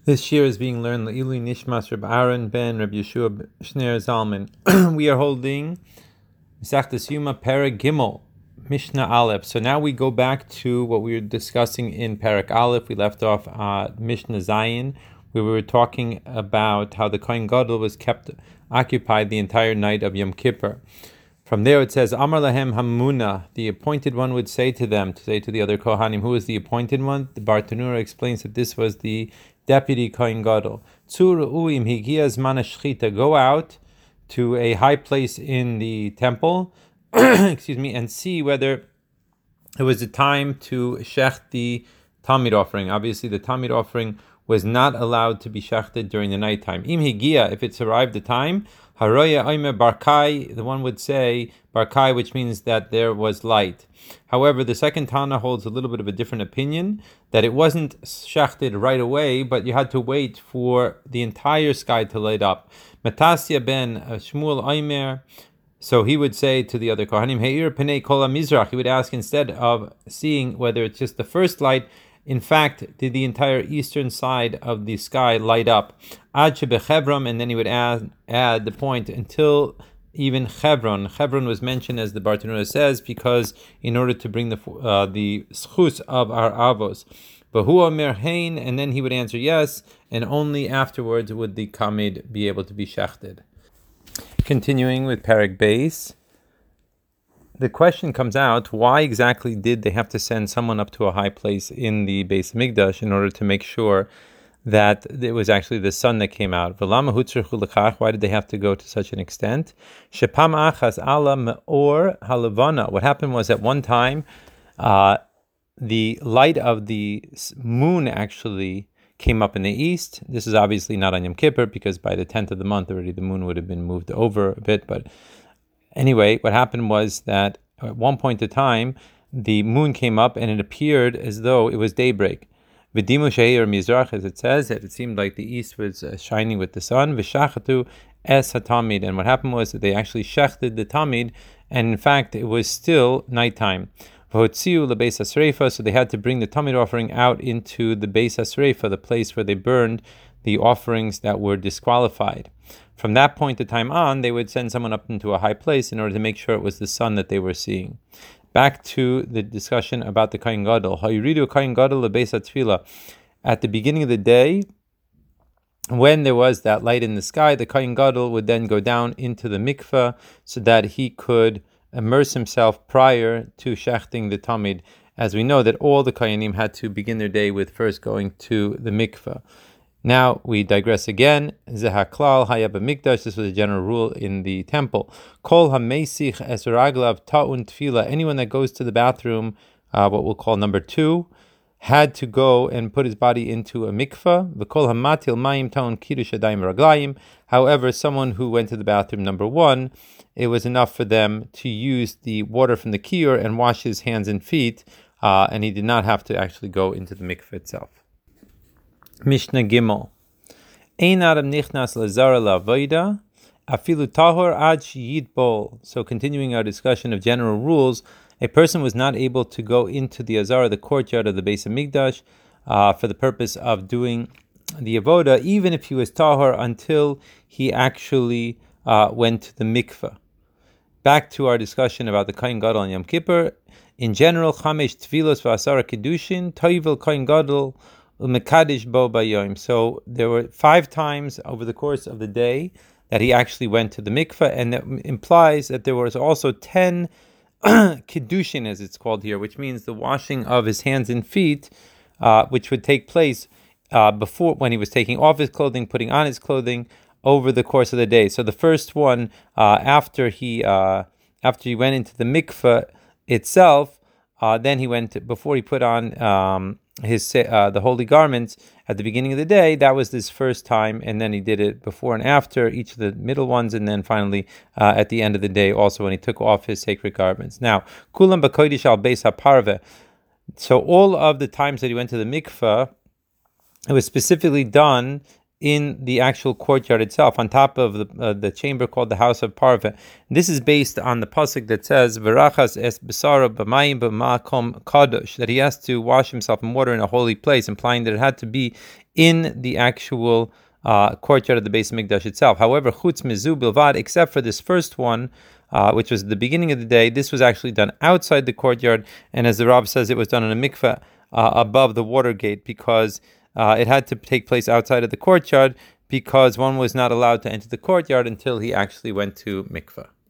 This year is being learned Le'ili Nishmas Reb Aaron ben Reb Yeshua Shner Zalman. We are holding Masechtas Yuma Perek Gimel, Mishnah Aleph. So now we go back to what we were discussing in Perek Aleph. We left off Mishnah Zayin, where we were talking about how the Kohen Gadol was kept occupied the entire night of Yom Kippur. From there it says, Amar lahem hamuna, the appointed one would say to them, to say to the other Kohanim, who is the appointed one? The Bartanura explains that this was the deputy Kohen Gadol. Tzur'uim higiyaz manashchita, go out to a high place in the temple, and see whether it was the time to shech the Tamid offering. Obviously, the Tamid offering was not allowed to be shechted during the nighttime. Im higia, if it's arrived the time, haroya oime barkai, the one would say barkai, which means that there was light. However, the second Tana holds a little bit of a different opinion, that it wasn't shechted right away, but you had to wait for the entire sky to light up. Matasya ben Shmuel Oimer, so he would say to the other Kohanim, Heir Penei Kol HaMizrach, he would ask, instead of seeing whether it's just the first light, in fact, did the entire eastern side of the sky light up? Ad Shebechevron, and then he would add the point until even Chevron. Chevron was mentioned, as the Bartanura says, because in order to bring the schus of our avos. Bahu Omer Hein, and then he would answer yes, and only afterwards would the kamid be able to be shechted. Continuing with Perek Beis, the question comes out, why exactly did they have to send someone up to a high place in the Beis Mikdash in order to make sure that it was actually the sun that came out? Why did they have to go to such an extent? Shepam achas ala me'or halavana. What happened was, at one time, the light of the moon actually came up in the east. This is obviously not on Yom Kippur, because by the 10th of the month already the moon would have been moved over a bit. But anyway, what happened was that at one point in time, the moon came up and it appeared as though it was daybreak. V'dimu she'er mizrach, as it says, that it seemed like the east was shining with the sun. V'shachatu es hatamid, and what happened was that they actually shechted the tamid, and in fact it was still nighttime. V'hotziu lebeis hasreifa, so they had to bring the tamid offering out into the beis hasreifa, the place where they burned the offerings that were disqualified. From that point of time on, they would send someone up into a high place in order to make sure it was the sun that they were seeing. Back to the discussion about the Kohen Gadol. Hayuridu Kohen Gadol lebeis hatfila. At the beginning of the day, when there was that light in the sky, the Kohen Gadol would then go down into the mikveh so that he could immerse himself prior to shechting the tamid. As we know that all the Kohanim had to begin their day with first going to the mikveh. Now we digress again. Zehaklal hayab mikdash. This was a general rule in the temple. Kol hameisich es raglav ta'un tefila. Anyone that goes to the bathroom, what we'll call number 2, had to go and put his body into a mikveh. V'kol hamatil mayim ta'un kiddush adayim raglayim. However, someone who went to the bathroom number 1, it was enough for them to use the water from the kiyur and wash his hands and feet, and he did not have to actually go into the mikveh itself. Mishnah Gimel. Ein adam nichnas lazara la'avoda, afilu tahor ad sheyitbol. So continuing our discussion of general rules, a person was not able to go into the azara, the courtyard of the Beis Hamikdash, for the purpose of doing the avoda, even if he was tahor, until he actually went to the mikveh. Back to our discussion about the Kohen Gadol on Yom Kippur. In general, chamesh tfilos v'asara kiddushin, toivel Kohen Gadol umekadish bo bayom. So there were 5 times over the course of the day that he actually went to the mikveh, and that implies that there was also 10 kiddushin, as it's called here, which means the washing of his hands and feet, which would take place before, when he was taking off his clothing, putting on his clothing, over the course of the day. So the first one, after he went into the mikveh itself, then he went, before he put on his the holy garments at the beginning of the day. That was his first time, and then he did it before and after each of the middle ones, and then finally at the end of the day, also when he took off his sacred garments. Now, kulam b'kodesh al beis haparveh. So all of the times that he went to the mikveh, it was specifically done in the actual courtyard itself, on top of the chamber called the House of Parveh. This is based on the pasuk that says "Verachas es besara b'mayim b'makom kadosh," that he has to wash himself in water in a holy place, implying that it had to be in the actual courtyard of the Beis Mikdash itself. However, chutz mizu bilvad, except for this first one, which was at the beginning of the day, this was actually done outside the courtyard, and as the Rav says, it was done in a mikveh above the water gate, because it had to take place outside of the courtyard, because one was not allowed to enter the courtyard until he actually went to mikveh.